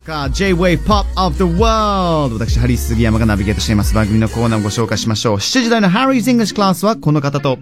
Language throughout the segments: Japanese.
か J-Way Pop of the World。 私ハリー杉山がナビゲートしています番組のコーナーをご紹介しましょう。7時台の Harry's English Class はこの方と。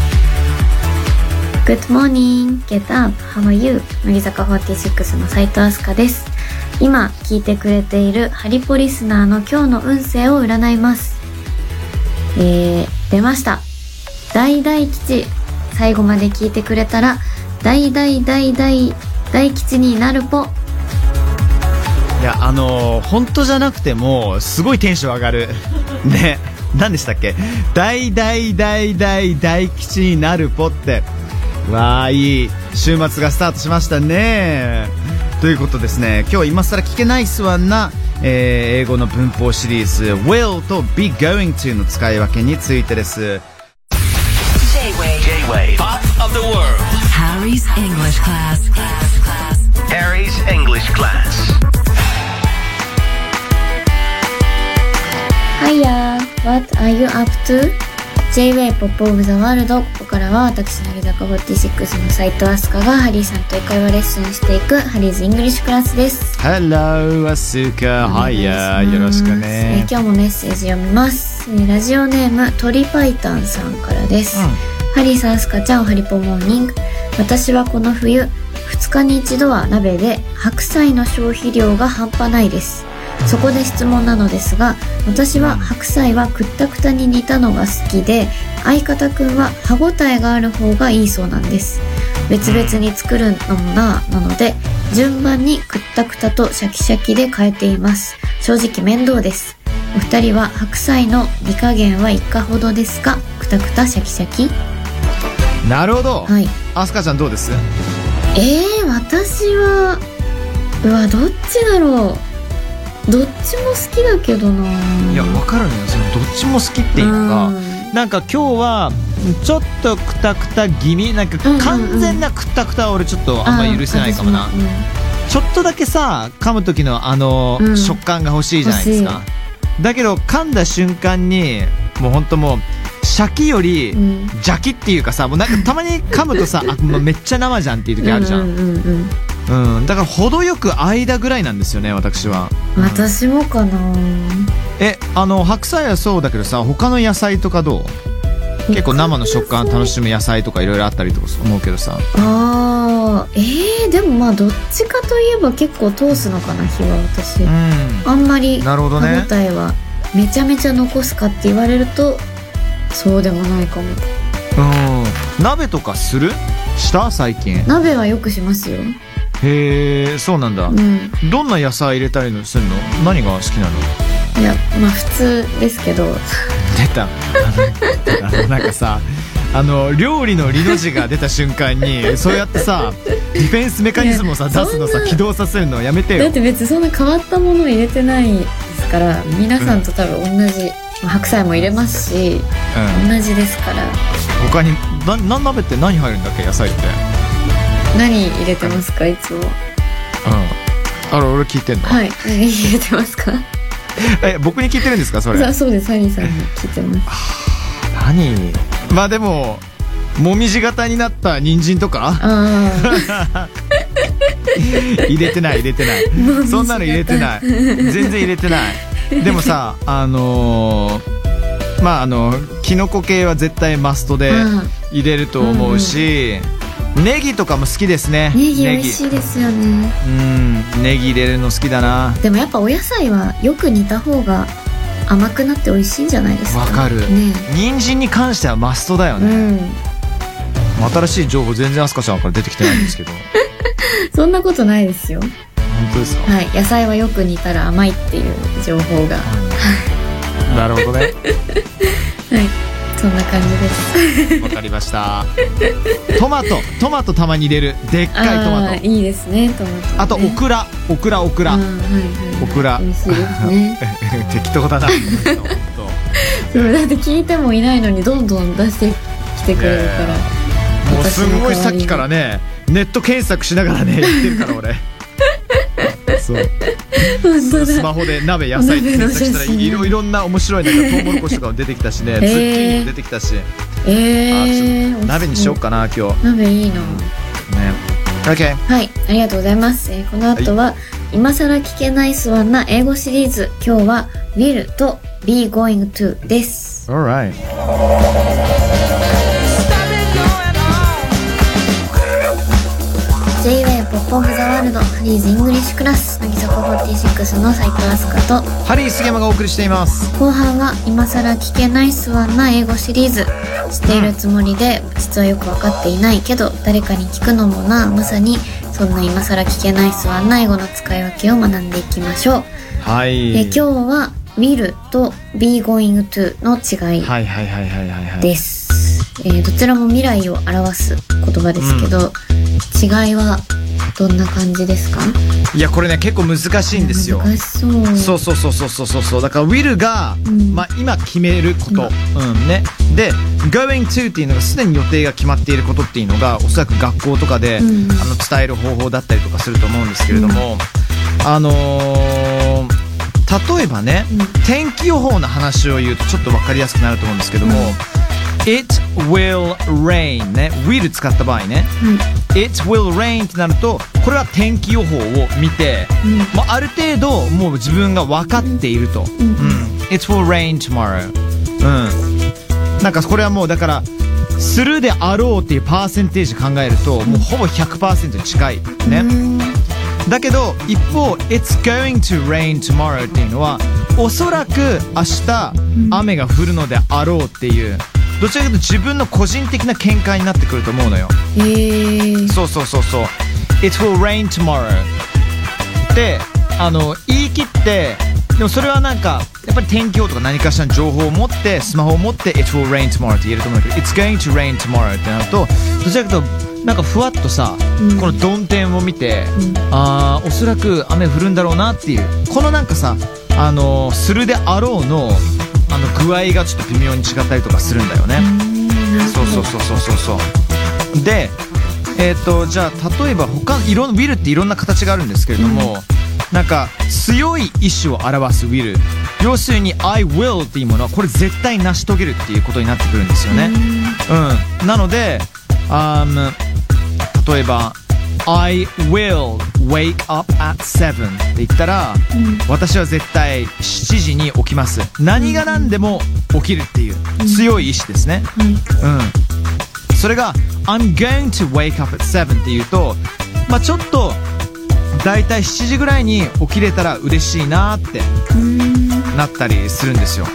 Good morning, get up, how are you? 乃木坂46の斉藤飛鳥です。今聞いてくれているハリポリスナーの今日の運勢を占います。出ました。大大吉。最後まで聞いてくれたら大大大大大吉になるぽ。 いや本当じゃなくてもすごいテンション上がるね。何でしたっけ、大大大大大吉になるぽって。わー、いい週末がスタートしましたね。ということですね、今日は今更聞けないスワンな、英語の文法シリーズ will と be going to の使い分けについてです。 J-Way Pop of the World Harry's English Class Harry's English Class。 Hiya, what are you up to? J-Way Pop of the World。 ここからは私乃木坂46の斉藤飛鳥がハリーさんと英会話レッスンしていくハリーズイングリッシュクラスです。 Hello アスカ、Hiya、よろしくね。 今日もメッセージ読みます。ラジオネーム鳥パイタンさんからです、ハリーさん、スカちゃん、おはりぽモーニング。私はこの冬2日に1度は鍋で白菜の消費量が半端ないです。そこで質問なのですが、私は白菜はくったくたに煮たのが好きで、相方くんは歯ごたえがある方がいいそうなんです。別々に作るのもなので順番にくったくたとシャキシャキで変えています。正直面倒です。お二人は白菜の煮加減はいかほどですか？くたくたシャキシャキ。 なるほど。 はい。 アスカちゃんどうです？ 私はどっちだろう。どっちも好きだけどな。 いや、わかるのよ。そのどっちも好きっていうのが、なんか今日はちょっとくたくた気味、なんか完全なくたくたは俺ちょっとあんまり許せないかもな。ちょっとだけさ、噛む時の食感が欲しいじゃないですか。だけど噛んだ瞬間にもうほんともうシャキよりジャキっていうかさ、もうなんかたまに噛むとさもうめっちゃ生じゃんっていう時あるじゃん。だから程よく間ぐらいなんですよね、私は。 私もかな。 白菜はそうだけどさ、他の野菜とかどう？結構生の食感楽しむ野菜とかいろいろあったりとか思うけどさ。 でもまあどっちかといえば結構通すのかな、日は私。あんまり歯応えはめちゃめちゃ残すかって言われるとそうでもないかも。 鍋とかした最近？ 鍋はよくしますよ。 へえ、そうなんだ。どんな野菜入れたりするの？何が好きなの？ いや、まあ普通ですけど。 出た。なんかさ、料理の理の字が出た瞬間にそうやってさディフェンスメカニズムをさ出すのさ、起動させるのやめてよ。 だって別にそんな変わったものを入れてないですから、皆さんと多分同じ、白菜も入れますし、同じですから。他に鍋って何入るんだっけ、野菜って。 何入れてますか、いつも。 俺聞いてんの？ はい。何入れてますか？ 僕に聞いてるんですか、それ。 そうです、ハリーさんに聞いてます。 何？まあでももみじ型になった人参とか入れてないそんなの入れてない、全然入れてない。でもさ、キノコ系は絶対マストで入れると思うし、ネギとかも好きですね。 ネギ美味しいですよね。 ネギ入れるの好きだな。 でもやっぱお野菜はよく煮た方が甘くなって美味しいんじゃないですか。 わかる、人参に関してはマストだよね。新しい情報全然アスカちゃんから出てきてないんですけど。 そんなことないですよ。 本当ですか？ はい、野菜はよく煮たら甘いっていう情報が。 なるほどね。 はい、そんな感じです。 わかりました。トマトたまに入れる。でっかいトマト。 いいですね、トマト、ね。 あとオクラ。オクラ。 オクラ。美味しいですね。 適当だな。 そうだって聞いてもいないのにどんどん出してきてくれるから。 もうすごいさっきからね、ネット検索しながらね言ってるから俺。そう。スマホで鍋野菜って検索したらいろんな面白いなんかトウモロコシとかも出てきたしね、ズッキーニも出てきたし。鍋にしようかな今日。 鍋いいな。 ね。OK。 はい、ありがとうございます。この後は今更聞けないスワンな英語シリーズ。今日は will と be going to です。 Alright。 J-Way ポップオフザワールドハリーズイングリッシュクラス、乃木坂46の斉藤飛鳥とハリー杉山がお送りしています。 後半は今更聞けないスワンな英語シリーズ。知っているつもりで実はよく分かっていないけど誰かに聞くのもな、まさにそんな今更聞けないスワンな英語の使い分けを学んでいきましょう。 はい。 今日は will と be going to の違いです。どちらも未来を表す言葉ですけど、違いはどんな感じですか？ いやこれね結構難しいんですよ。 難しそう。 そうだから will が、今決めること、ね。で going to っていうのがすでに予定が決まっていることっていうのがおそらく学校とかで、伝える方法だったりとかすると思うんですけれども、例えばね、天気予報の話を言うとちょっと分かりやすくなると思うんですけども、It will rain ね、will 使った場合ね、It will rain ってなるとこれは天気予報を見て、ある程度もう自分が分かっていると、It will rain tomorrow、なんかこれはもうだからするであろうっていうパーセンテージ考えるともうほぼ 100% に近いね。だけど一方 It's going to rain tomorrow っていうのはおそらく明日雨が降るのであろうっていうどちらかというと自分の個人的な見解になってくると思うのよ。そう It will rain tomorrow って言い切って、でもそれはなんかやっぱり天気予報とか何かしらの情報を持ってスマホを持って It will rain tomorrow って言えると思うんだけど It's going to rain tomorrow ってなるとどちらかというとなんかふわっとさ、この曇天を見て、おそらく雨降るんだろうなっていうこのなんかさするであろうの具合がちょっと微妙に違ったりとかするんだよね。そうでじゃあ例えば他のwill っていろんな形があるんですけれども、なんか強い意志を表す will、 要するに I will っていうものはこれ絶対成し遂げるっていうことになってくるんですよね。なので例えば I will wake up at 7って言ったら、私は絶対7時に起きます。何が何でも起きるっていう強い意志ですね。それが I'm going to wake up at 7っていうと、ちょっとだいたい7時ぐらいに起きれたら嬉しいなってなったりするんですよ。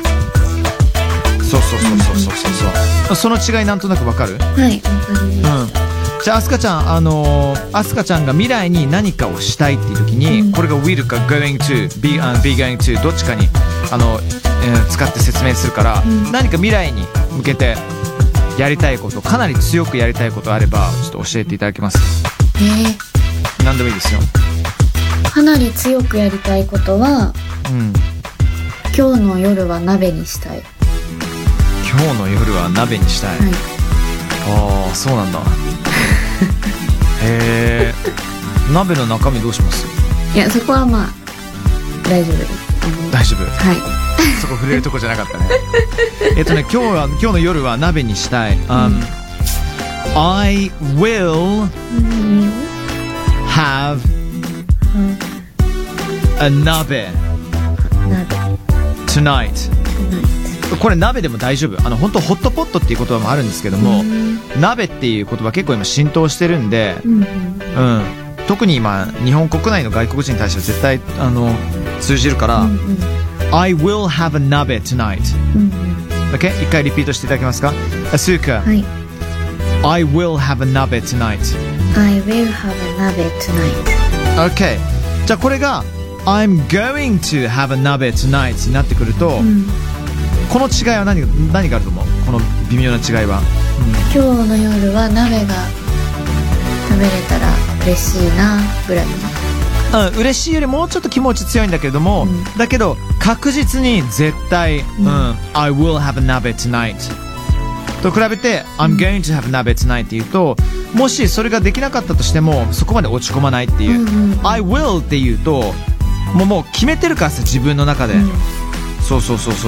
そうその違いなんとなくわかる？ はい、わかります。 じゃあアスカちゃんアスカちゃんが未来に何かをしたいっていう時に、これが will か going to be going to どっちかに使って説明するから、何か未来に向けてやりたいこと、かなり強くやりたいことあればちょっと教えていただけます？何でもいいですよ。 かなり強くやりたいことは、今日の夜は鍋にしたい。 今日の夜は鍋にしたい。ああ、そうなんだ。へえ。鍋の中身どうします？ いや、そこは大丈夫です。 大丈夫。 はい。 そこ触れるとこじゃなかったね。今日の夜は鍋にしたい。I will have a 鍋 tonight。これ鍋でも大丈夫。本当ホットポットっていう言葉もあるんですけども、鍋っていう言葉結構今浸透してるんで、特に今日本国内の外国人に対しては絶対通じるから、I will have a 鍋 tonight。OK？ 一回リピートしていただけますか？アスーカ。はい。I will have a 鍋 tonight。I will have a 鍋 tonight。OK。 じゃあこれが I'm going to have a 鍋 tonight になってくると、この違いは何があると思う？この微妙な違いは、 今日の夜は鍋が食べれたら嬉しいなぐらいの、 嬉しいよりもうちょっと気持ち強いんだけれども、だけど確実に絶対、I will have a 鍋 tonight と比べて、I'm going to have a 鍋 tonight っていうと、もしそれができなかったとしてもそこまで落ち込まないっていう、I will っていうともう決めてるからさ、自分の中で、そう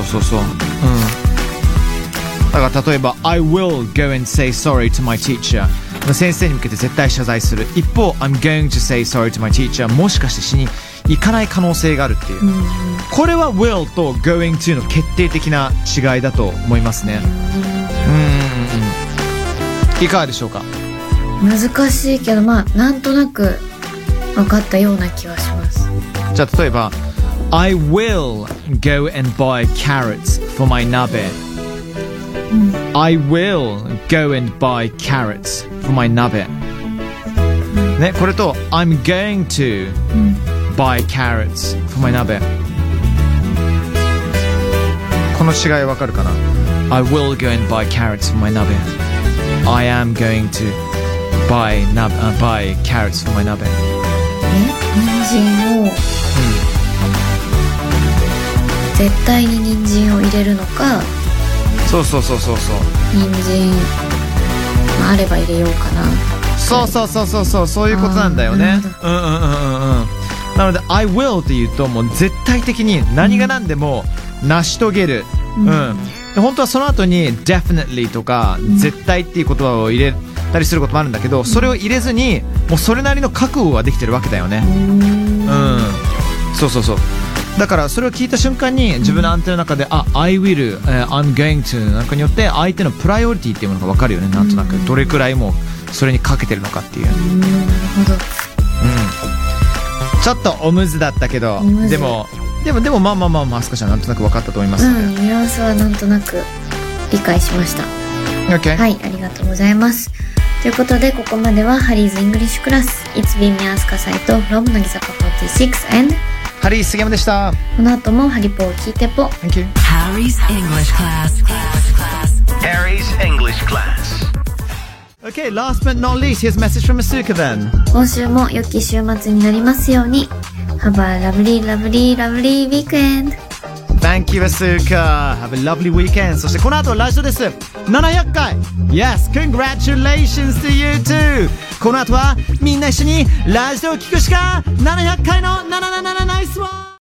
だから例えば I will go and say sorry to my teacher、 先生に向けて絶対謝罪する。一方 I'm going to say sorry to my teacher、 もしかして行かない可能性があるっていう、これは will と going to の決定的な違いだと思いますね。いかがでしょうか。 難しいけど、まあなんとなく分かったような気はします。 じゃあ例えば I will go and buy carrots for my nabe、I will go and buy carrots for my nabe、ね、これと I'm going to buy carrots for my nabe、この違いわかるかな。 I will go and buy carrots for my nabe、 I am going to buy carrots for my nabe。 人参を、絶対に人参を入れるのか、 そう人参、まあ、あれば入れようかな。 そういうことなんだよね。なので I will って言うともう絶対的に何が何でも成し遂げる、本当はその後に definitely とか、絶対っていう言葉を入れたりすることもあるんだけど、それを入れずにもうそれなりの覚悟ができてるわけだよね。そうだからそれを聞いた瞬間に自分のアンテナの中で、I will、I'm going to なんかによって相手のプライオリティっていうものが分かるよね。なんとなくどれくらいもうそれにかけてるのかっていう。 なるほど。 ちょっとおむずだったけど、でもまあアスカちゃんなんとなく分かったと思いますので、 ニュアンスはなんとなく理解しました。 Okay. はい、ありがとうございます。ということでここまではハリーズイングリッシュクラス It's been me アスカサイト from 乃木坂46 and ハリー杉山でした。 この後もハリポを聞いてぽ。 Thank you. Harry's English class. Harry's English class. Okay, last but not least, here's a message from Asuka then. 今週も良き週末になりますように。Have a lovely, lovely, lovely weekend. Thank you, Asuka. Have a lovely weekend. そしてこの後ラジオです。700回 Yes, congratulations to you too. この後はみんな一緒にラジオを聞くしか700回の777ナイスワン